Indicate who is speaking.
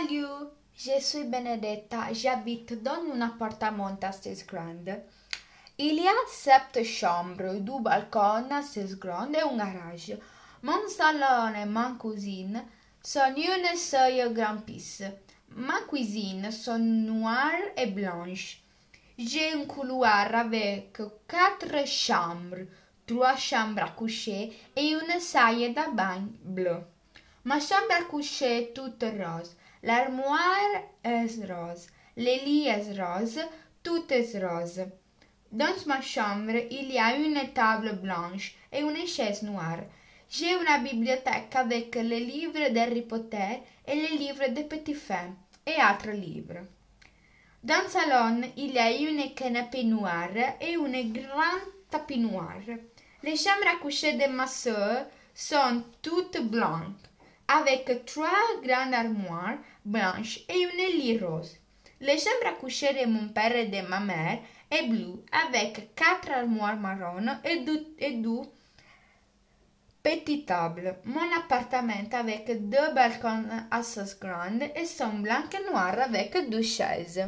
Speaker 1: Salut, je suis Benedetta, j'habite dans un appartement assez grand. Il y a 7 chambres, 2 balcons assez grands et un garage. Mon salon et ma cuisine sont une seule grande pièce. Ma cuisine sont noire et blanche. J'ai un couloir avec 4 chambres, 3 chambres à coucher et une salle de bain bleue. Ma chambre à coucher est toute rose. L'armoire est rose. Le lit est rose. Tout est rose. Dans ma chambre, il y a une table blanche et une chaise noire. J'ai une bibliothèque avec les livres d'Harry Potter et les livres de Petit Fin et autres livres. Dans le salon, il y a une canapé noire et une grande tapis noir. Les chambres à coucher de ma sœur sont toutes blanches, avec 3 grandes armoires blanches et une lit rose. Les chambres à coucher de mon père et de ma mère est bleue, avec 4 armoires marron et deux petites tables. Mon appartement avec 2 balcons assez grands et sont blancs et noirs avec 2 chaises.